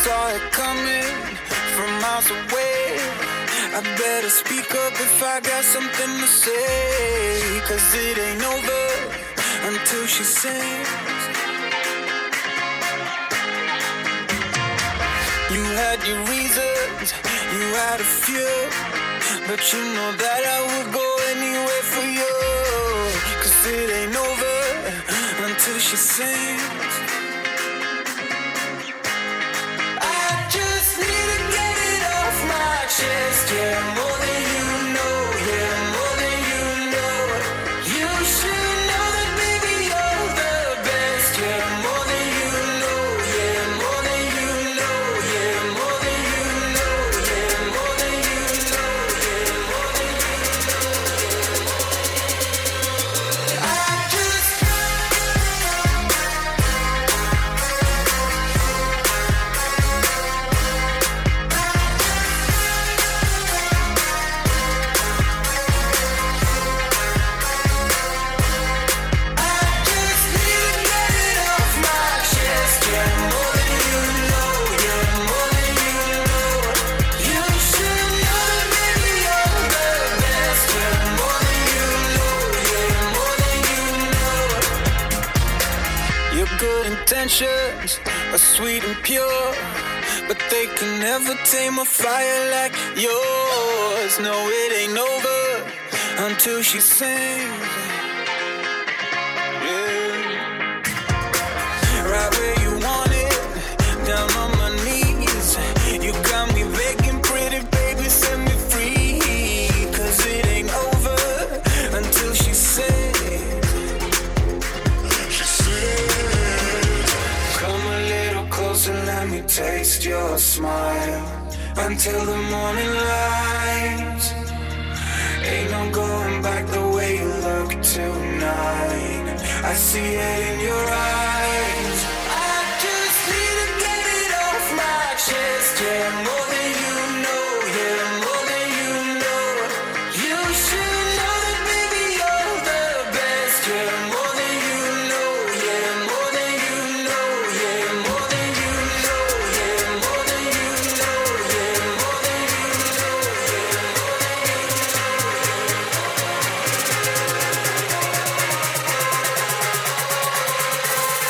saw it coming from miles away. I better speak up if I got something to say, 'cause it ain't over until she sings. You had your reasons, you had a few, but you know that I would go anywhere for you, 'cause it ain't over until she sings. I just need to get it off my chest, yeah, more than you know, yeah, more than you know. You should know that, baby, you're the best, yeah, more than you know, yeah, more than you know, yeah, more than you know, yeah, more than you know, yeah, more than you know. I just intentions are sweet and pure, but they can never tame a fire like yours. No, it ain't over until she sings. Yeah. Right where you want it, down on my knees. You got me begging, pretty baby, set me free, 'cause it ain't over until she sings. And let me taste your smile until the morning light. Ain't no going back the way you look tonight. I see it in your eyes. I just need to get it off my chest, yeah, more than you know, yeah, more than you know. You should know that, baby, you're the best, yeah, more than you know, yeah, more than you know, yeah, more than you know, yeah, more than you know, yeah, more than you know, yeah, more than you know.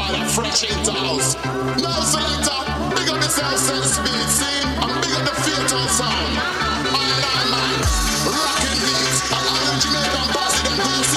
bad and fresh into house. No selector, big up yourself, set speed, see? And big up the fatal sound. I man, rocking beats, and I'm Jamaican president, DC.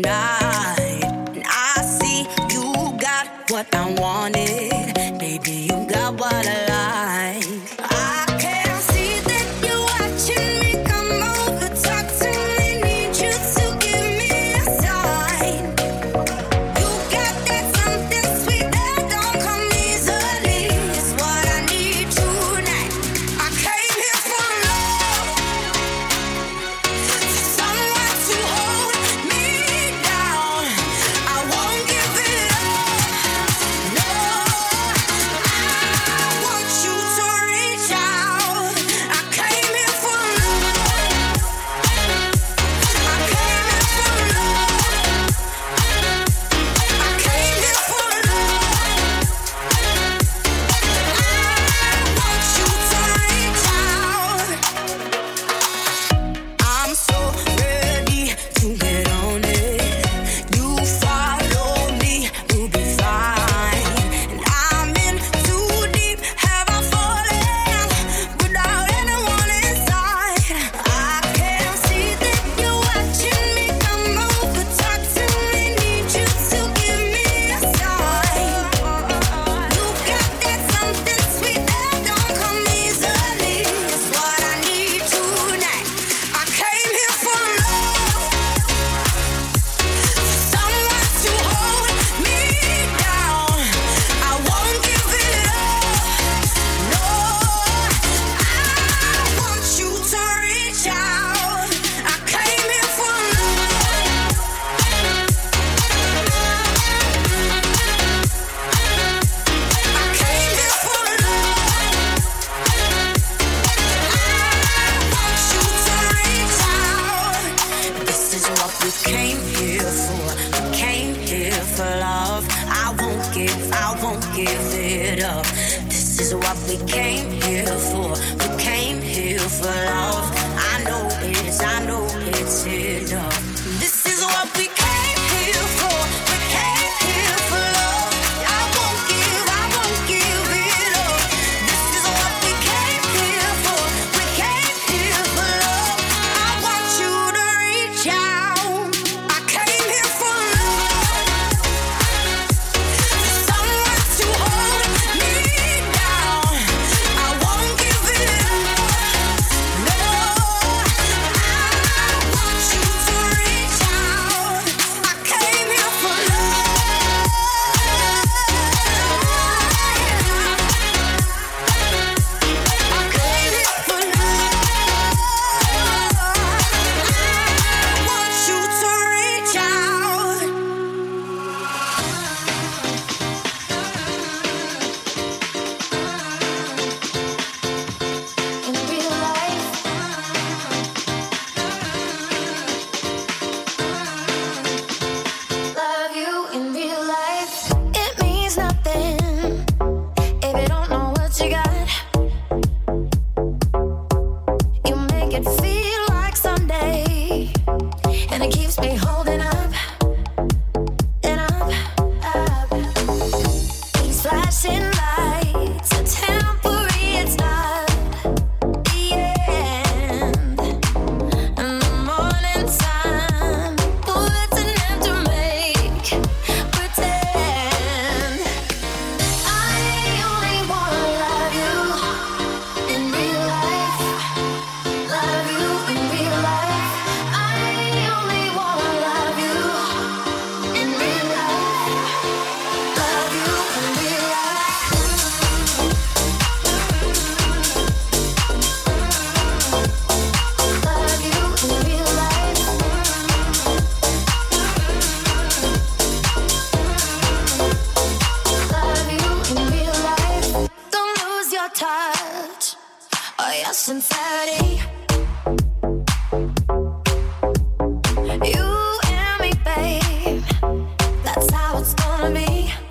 tonight. And I see you got what I wanted. Baby, you got what I like. I can see that you're watching me. Come over, talk to me. Need you to give me a sign. You got that something sweet that don't come easily. It's what I need tonight. I came here for love, someone to hold me down. I won't give it up. No, I want you to reach out. I came here for love. I came here for love. I came here for love. I want you to reach out. I'm so ready to get on it. You follow me, we'll be fine. And I'm in too deep. Have I fallen without anyone inside? I can see that you're watching me. Come over, talk to me. Need you to give me a sign. You got that something sweet that don't come easily. It's what I need tonight. I came here for love, someone to hold me down. I won't give it up. No, I want you to reach out. I came here for love. I came here for love. I want you to reach out. This is what we came here for. We came here for love. I won't give it up. This is what we came here for. We came here for love. I know it's enough. This is what we came here for. We came here for love. I won't give it up. This is what we came here for. We came here for love. I want you to reach out. I came here for love, someone to hold me down. I won't give it up. No, I want you to reach out. I came here for love. I came here for love. I want you to reach out. In real life, love you in real life. It means nothing if you don't know what you got. You make it feel like someday, and it keeps me holding up and up, up. These flashing lights are temporary, it's not the end. And the morning sun puts an end to make pretend. I only wanna love you in real life. Love you in real life. I only wanna love you in real life. Love you in real life. Love you in real life. Love you in real life. Don't lose your touch or your sincerity. You and me, babe. That's how it's gonna be.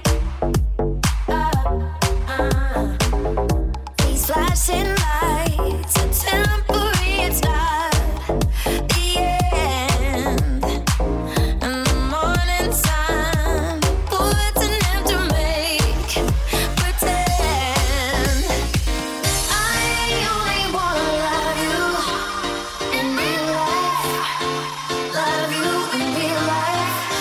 These flashing lights are temporary, it's not the end. And the morning sun puts an end to make pretend. I only wanna love you in real life. Love you in real life.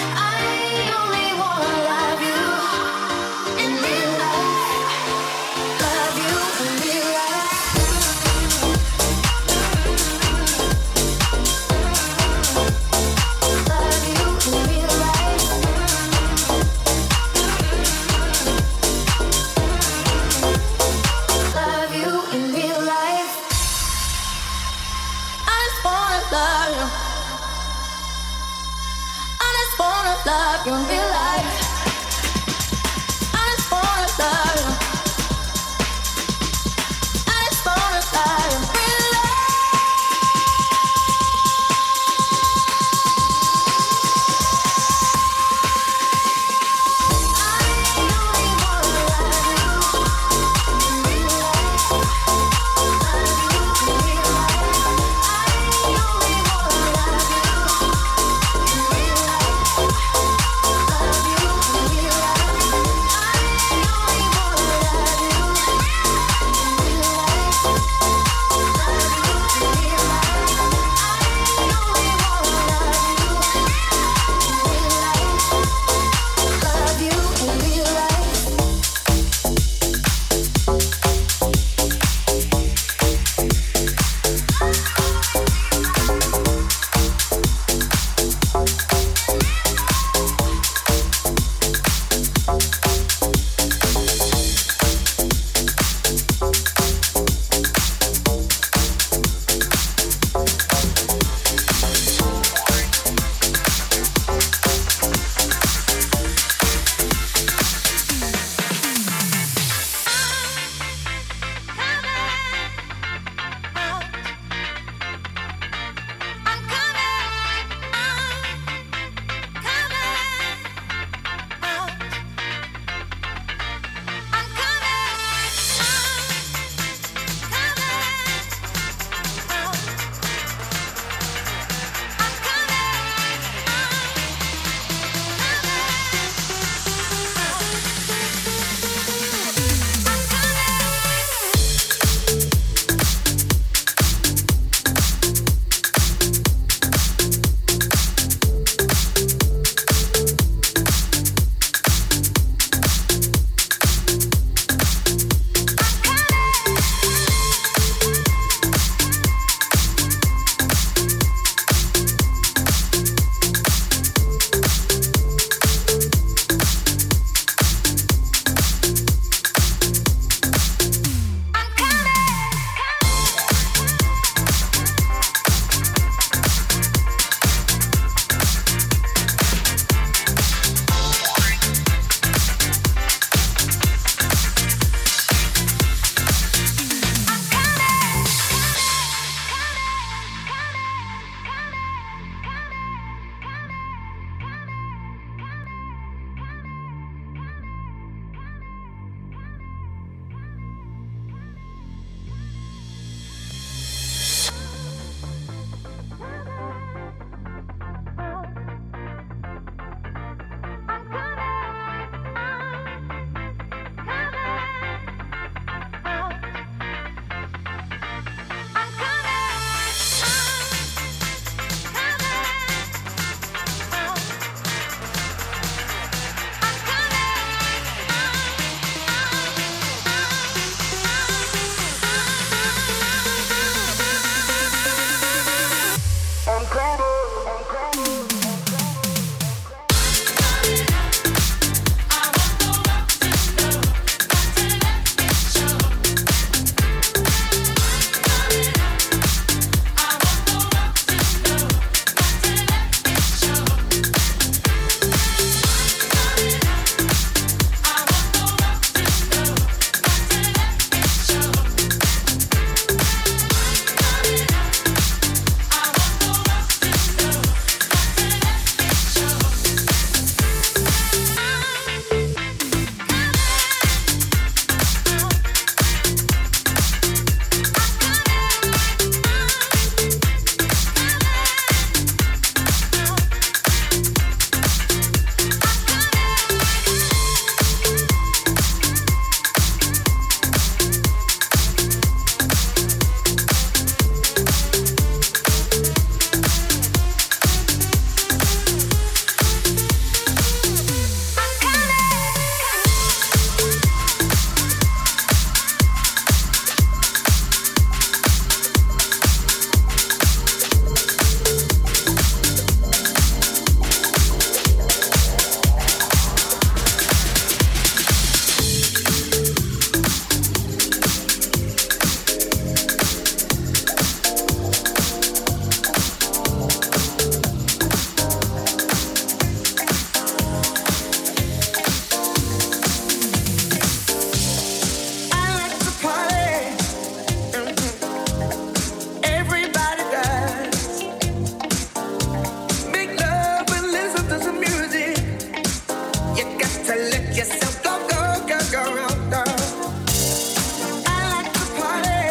to let yourself go, go, go, go, go. I like to party.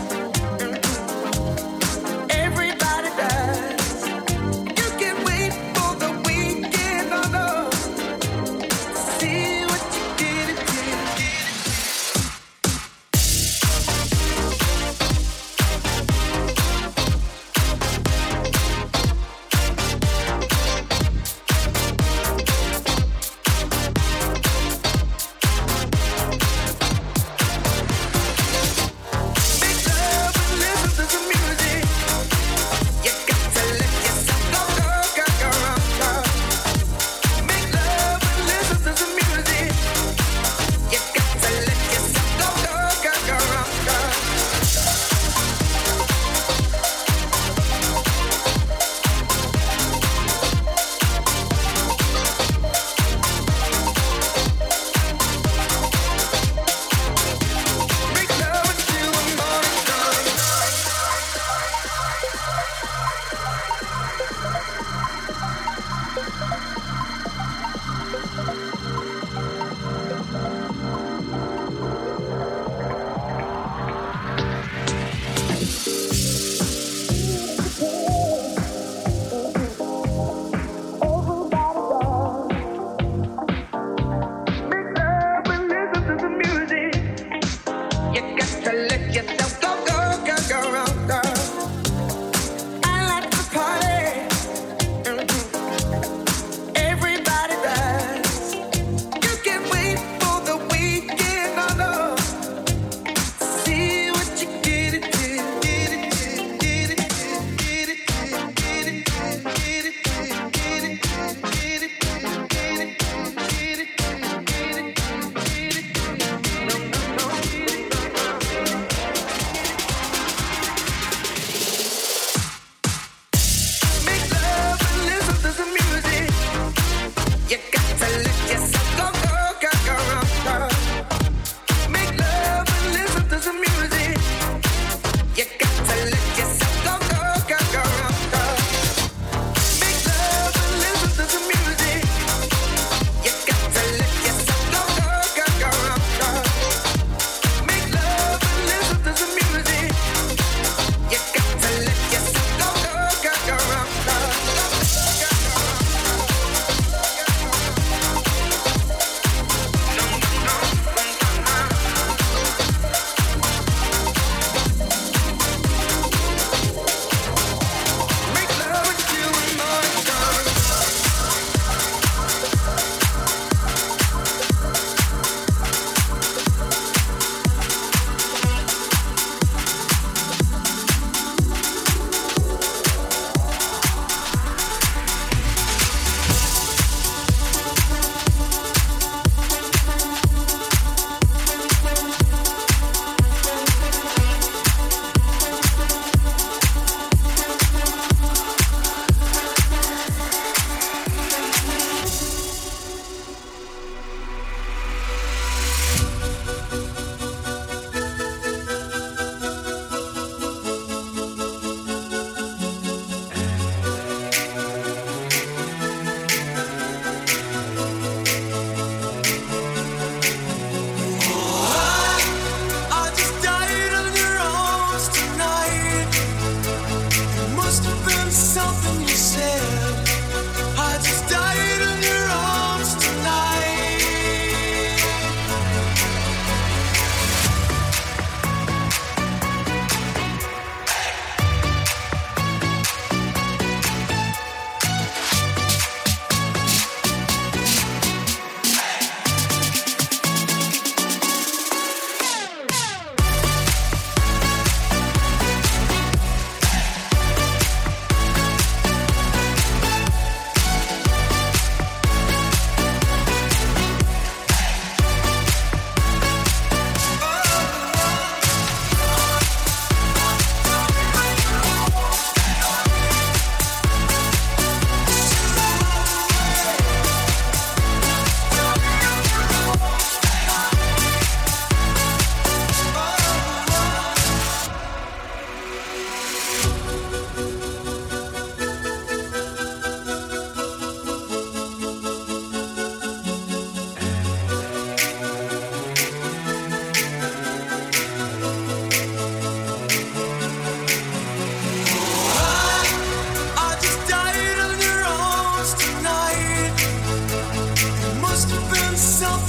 Everybody does. You can wait for the weekend, no, no. See what you did,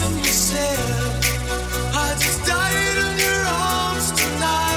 something you said. I just died in your arms tonight.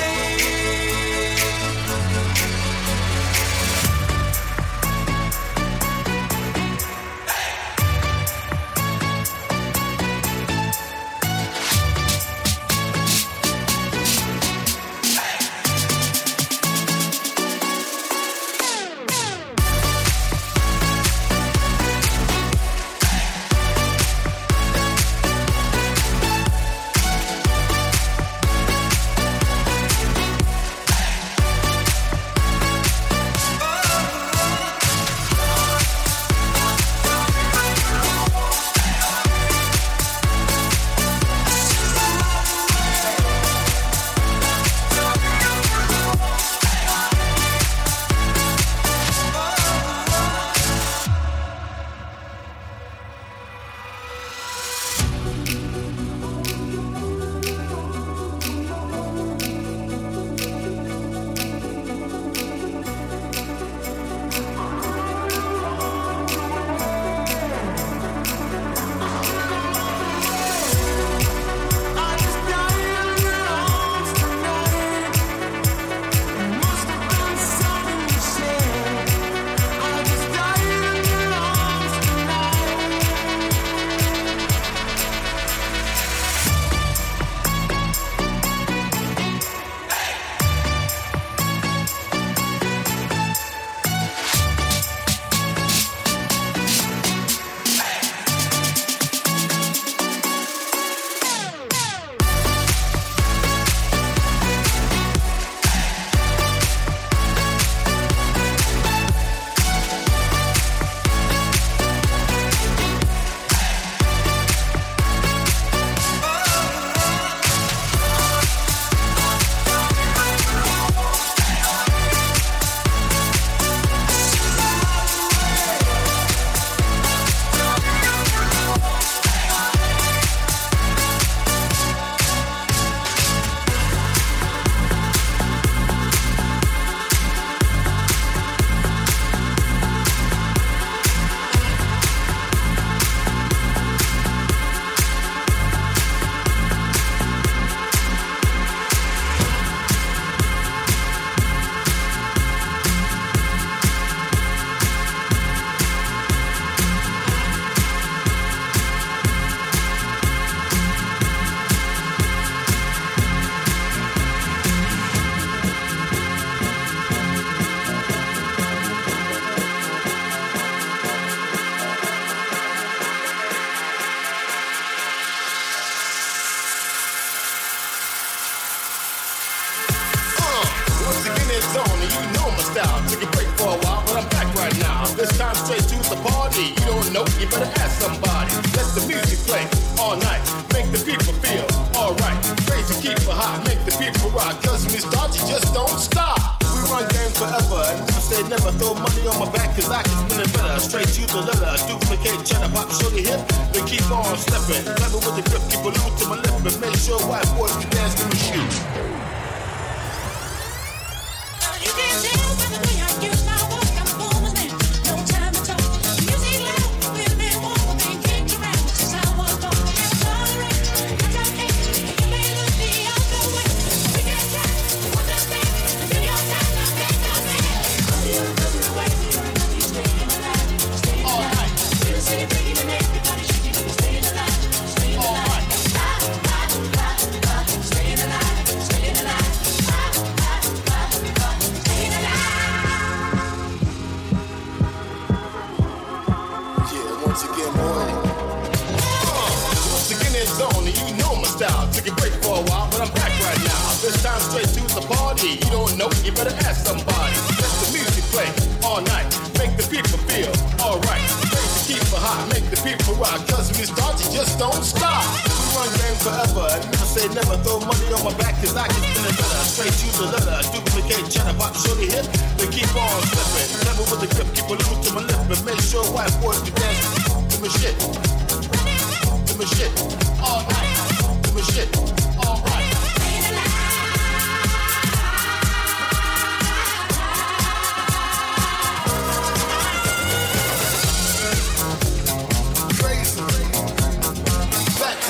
Back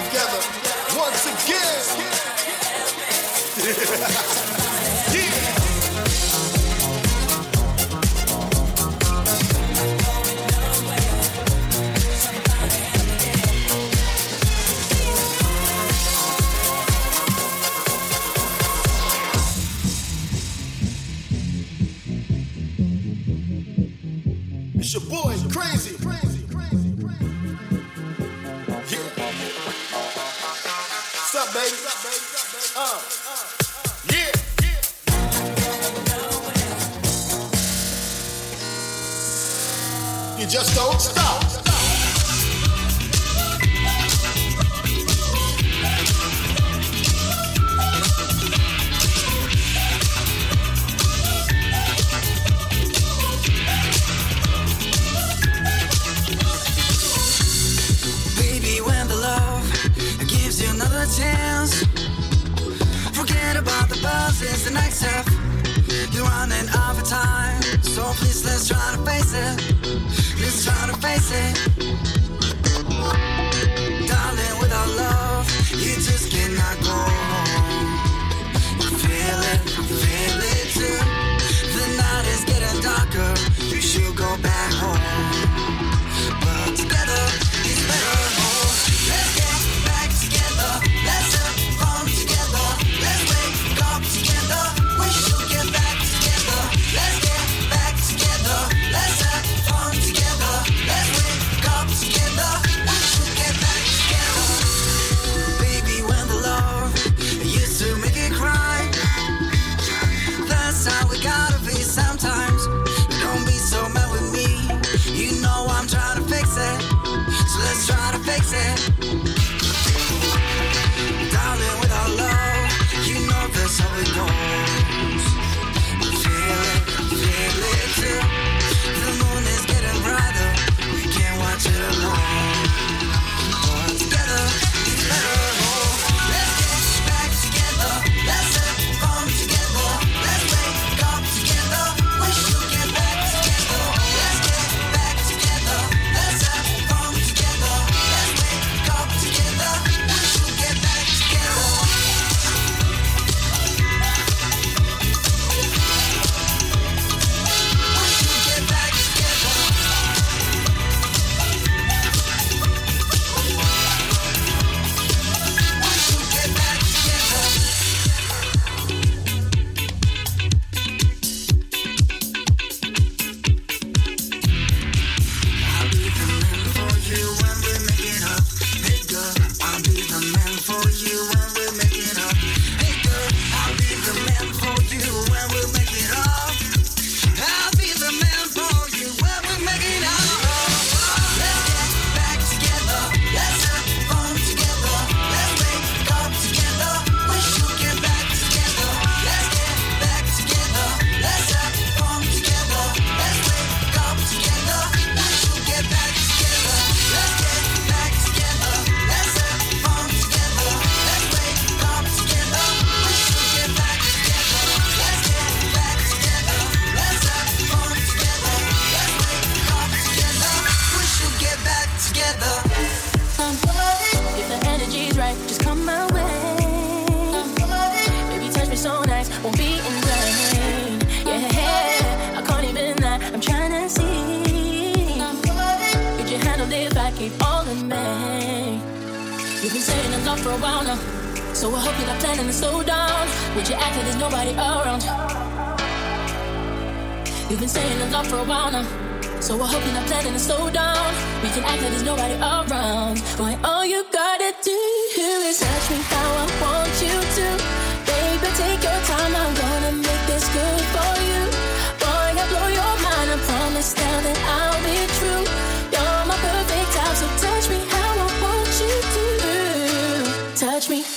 just don't stop. Baby, when the love gives you another chance, forget about the buzz, it's the next step. You're running out of time, so please let's try to face it. Let's try to face it. Darling, without love, you just cannot go home. You feel it too. The night is getting darker, you should go back home. But together, it's better. Oh, let's get back together. Let's have fun together. Let's wake up together. We should get back together. Let's get back together. Let's have fun together. Let's wake up together. We should get back together. Baby, when the love used to make it cry, that's how we gotta be sometimes. Don't be so mad with me. You know I'm trying to fix it. So let's try to fix it. Darling, without love, you know that's how it goes. Feel it too. The moon is getting brighter. We can't watch it alone. But together, it's better. Oh, let's get back together. Let's have fun together. Let's wake up together. We should get back together. Let's get back together. Let's have fun together. Let's wake up together. We should get back together. You've been saying a lot for a while now, so I hope you're not planning to slow down. Would you act like there's nobody around? You've been saying a lot for a while now, so I hope you're not planning to slow down. We can act like there's nobody around. Boy, all you gotta do is touch me how I want you to. Baby, take your time, I'm gonna make this good for you. Boy, I blow your mind, I promise now that I'll be true. You're my perfect type, so touch me how I want you to. Touch me.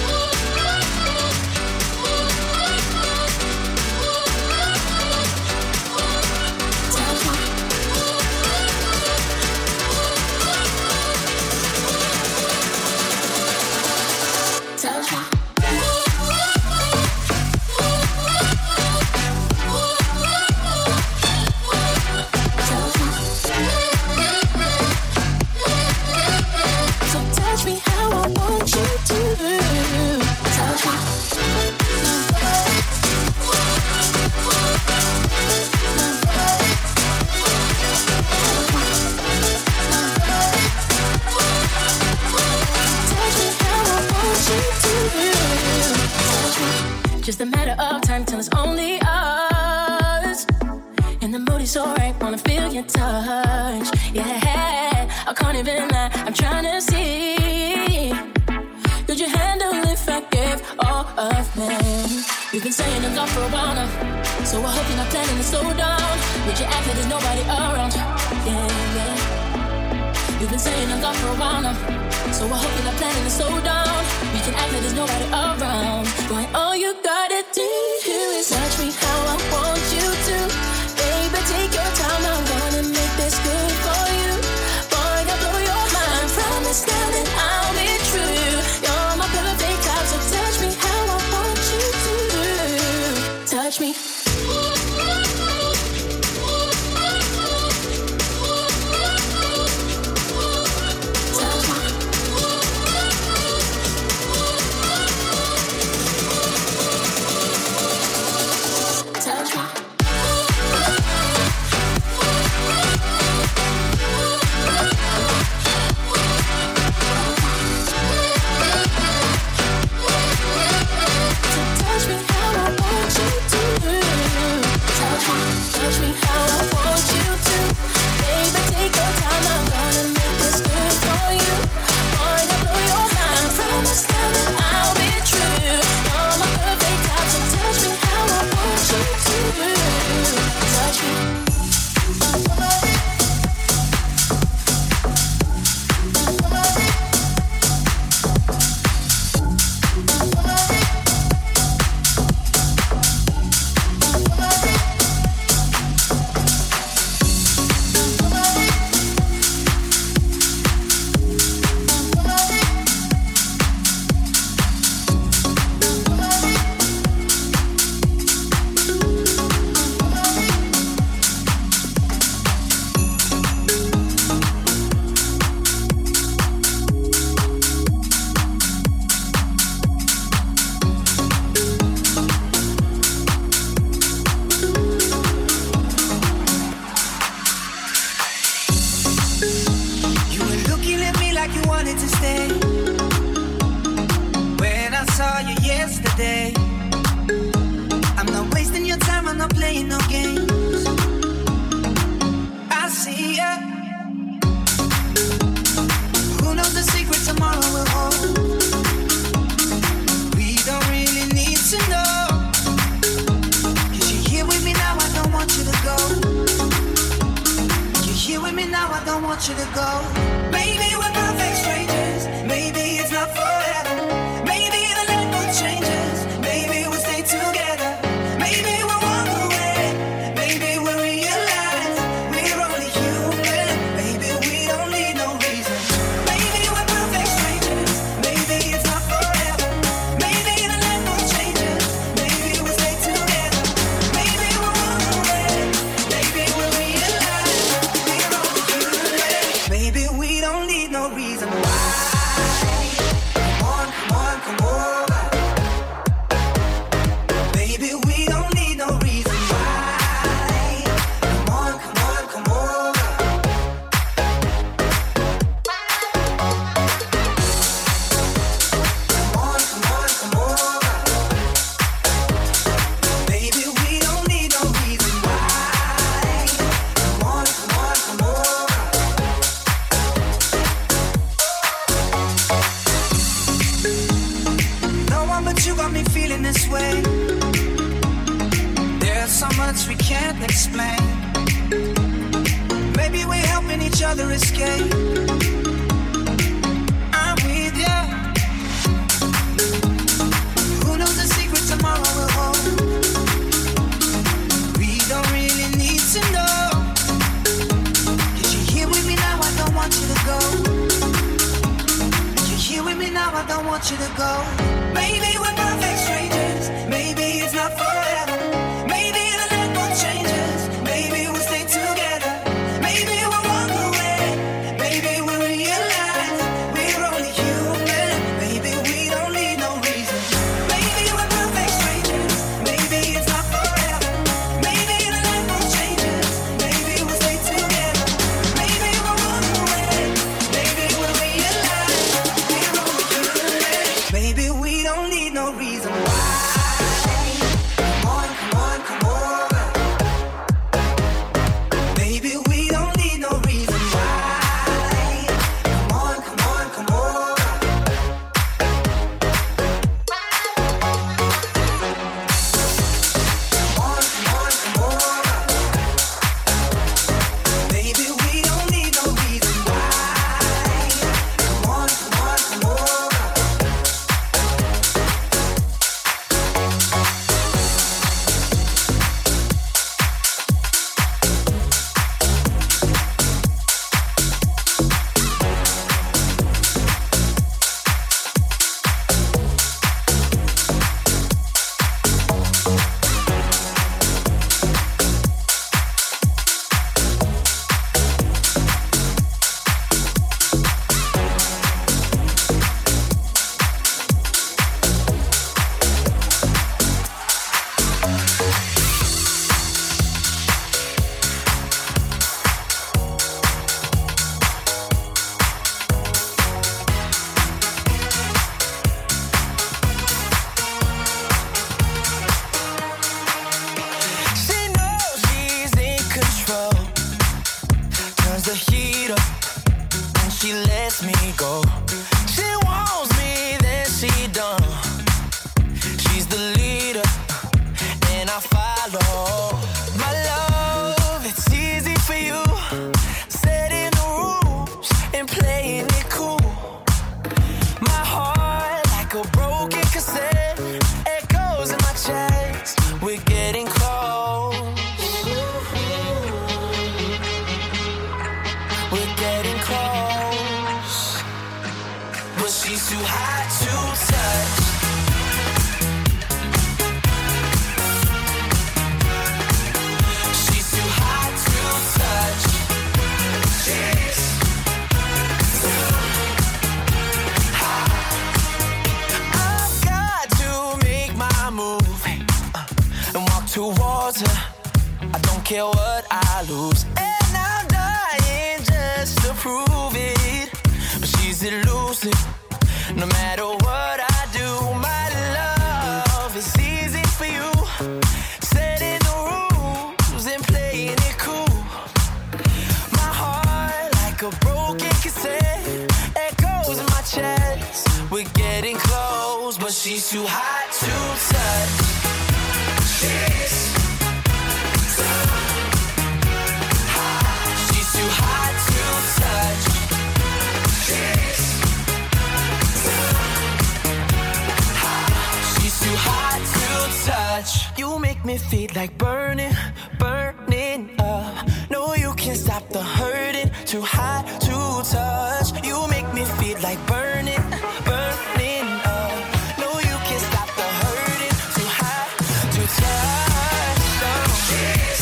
Just a matter of time till it's only us. And the mood is alright, wanna feel your touch. Yeah, I can't even lie, I'm trying to see. Could you handle if I gave all of me? We've been saying I'm gone for a while now, so I hope you're not planning to slow down. Would you act like there's nobody around? Yeah, yeah. You've been saying I'm gone for a while now, so I hope you're not planning to slow down. We can act like there's nobody around. Boy, all you gotta do is touch me how I want you to. Baby, take your time, I'm gonna make this good for you. Boy, I'll blow your mind, promise now that I'll be true. You're my perfect type, so touch me how I want you to. Touch me. Baby, we don't need no reason why. but she's too hot to touch. She's too hot to touch. She's too hot. I've got to make my move and walk towards her. I don't care what I lose, and I'm dying just to prove it. But she's elusive, no matter what I do. My love is easy for you, setting the rules and playing it cool. My heart like a broken cassette, echoes in my chest. We're getting close, but she's too hot to touch. She's too hot to touch. She's too hot to touch. You make me feel like burning, burning up. No, you can't stop the hurting. Too hot to touch. You make me feel like burning, burning up. No, you can't stop the hurting. Too hot to touch. Oh. She's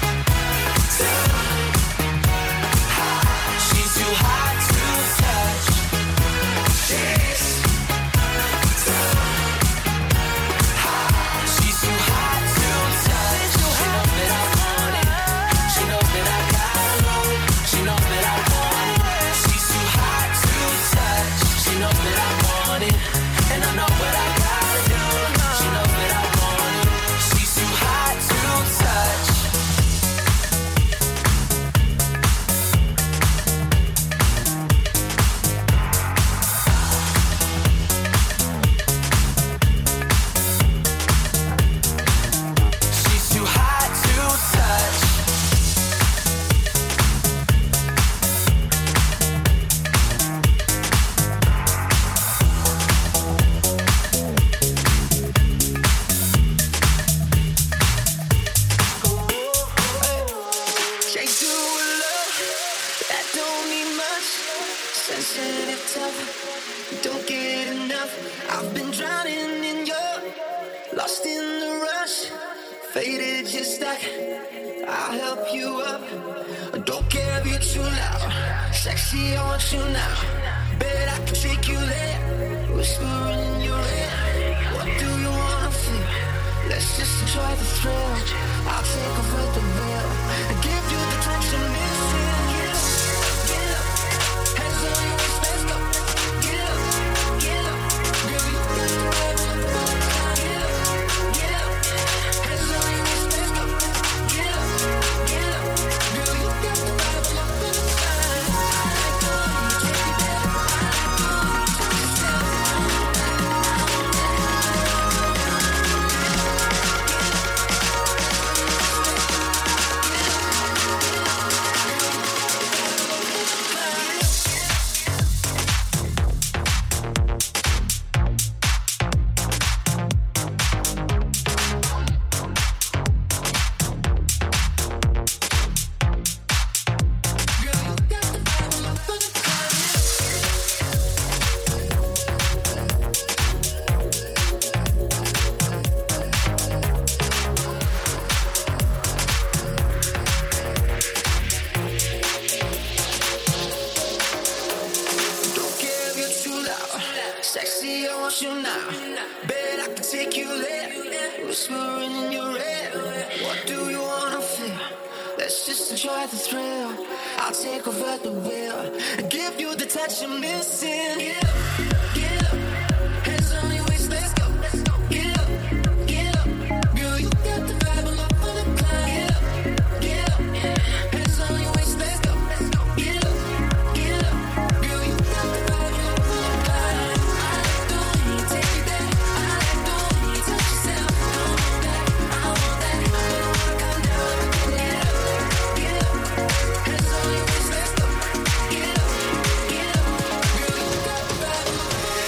too hot to touch. She's too hot to touch. She knows that I want it. She knows that I gotta know. She knows that I want it. She's too hot to touch. She knows that I want it, and I know what I gotta do. She knows that I want it. She's too hot to touch. She's too hot to touch. Can't do a love that don't need much. Sensitive, tough, don't get enough. I've been drowning in your, lost in the rush. Faded, you're stuck, I'll help you up. Don't care if you're too loud. Sexy, I want you now. Bet I can take you there. Whispering in your ear. What do you wanna feel? Let's just enjoy the thrill. I'll take over the veil and give you the touch you're missing. Get up, get up. Hands on your waist, let's go. Get up, get up. Girl, you got the vibe on the phone. Get up, get up. Hands on your waist, let's go. Get up, get up. Girl, you got the vibe on the phone. I like the way you take it there. I like the way you touch yourself. Don't care if you're too loud. Sexy, I want you now. Bet I can take you there. Whispering in your ear. What do you wanna feel? Let's just enjoy the thrill. I'll take over the wheel and give you the touch you're missing. Get up, get up. Hands on your waist, let's go. Get up, get up. Girl, you got the vibe, I'm up for the climb. Get up, get up. Hands on your waist, let's go. Get up, get up. Girl, you got the vibe, I'm up for the climb. I like the way you take it there. I like the way you touch yourself. I want that, I want that. I don't wanna come down, get up, get up. Hands on your waist, let's go. Get up, get up. Girl, you got the vibe, I'm up for the climb.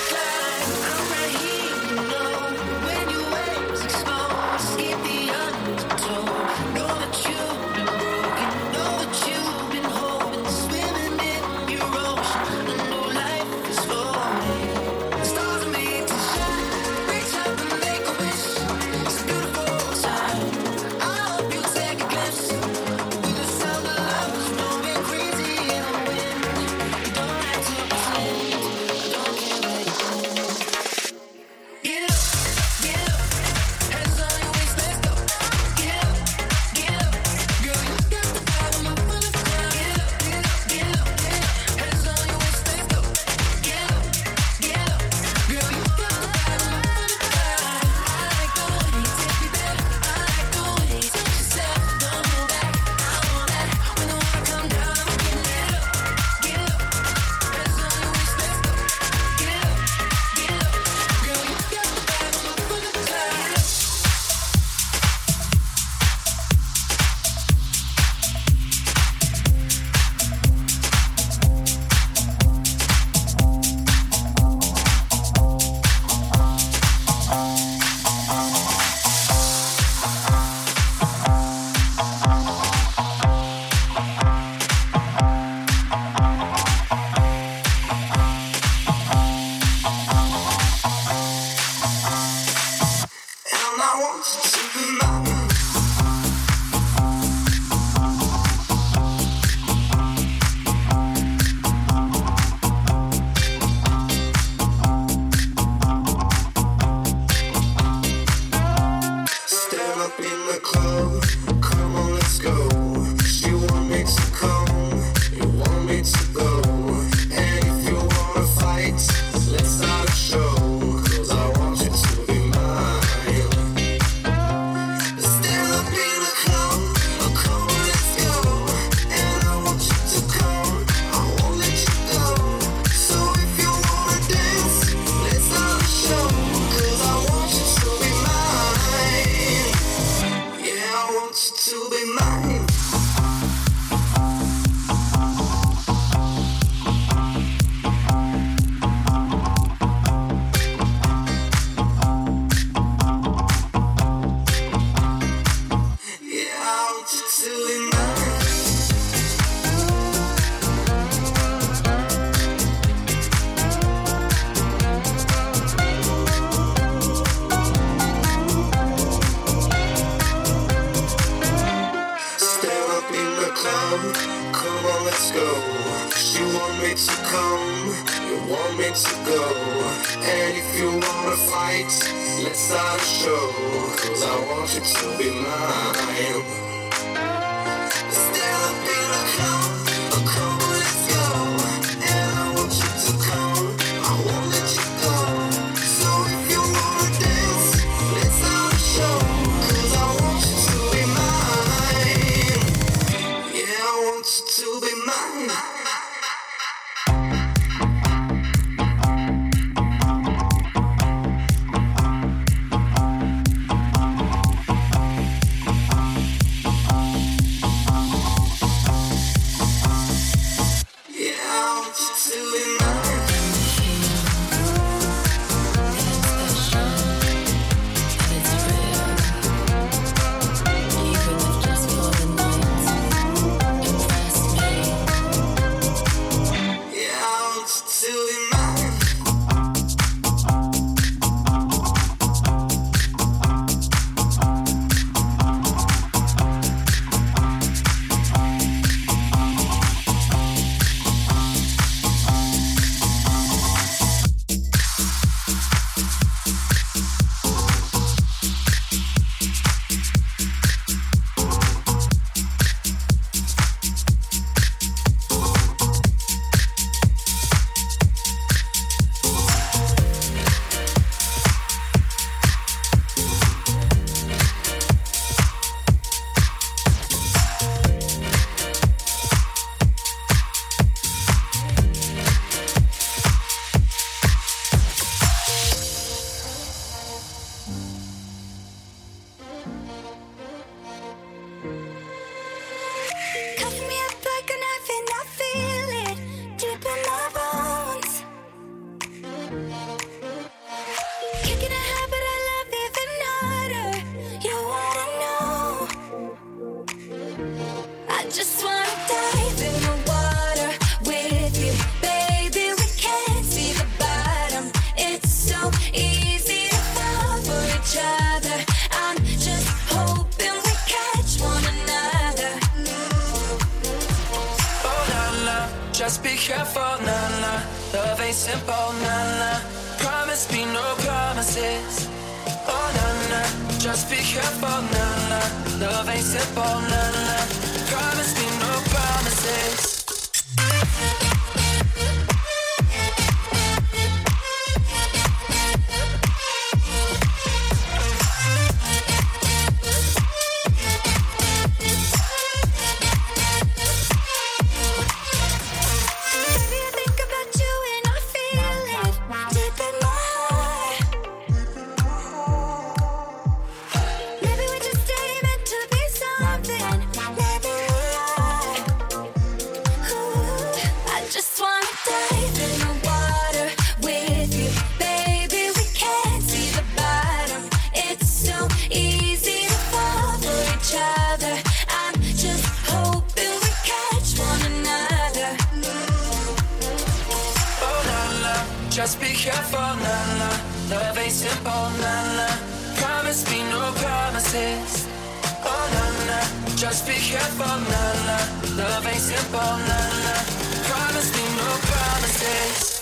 Just be careful, nah. Love ain't simple, nah. Promise me no promises. Oh, nah. Just be careful, nah. Love ain't simple, nah. Promise me no promises. Just be careful, nah. Love ain't simple, nah. Promise Promise me no promises. Oh na na, just be careful, na na. Love ain't simple, na na. Promise me no promises.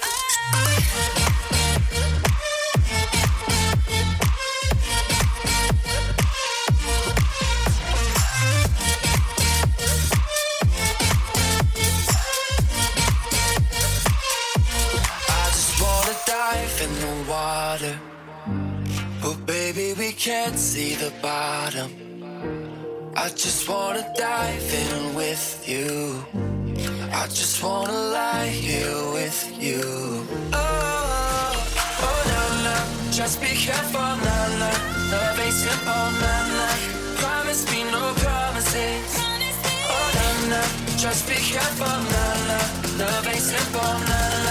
In the water, but baby we can't see the bottom. I just wanna dive in with you. I just wanna lie here with you. Oh, oh na na, just be careful, na na. Love ain't simple, na na. Promise me no promises. Oh na na, just be careful, na na. Love ain't simple, na na.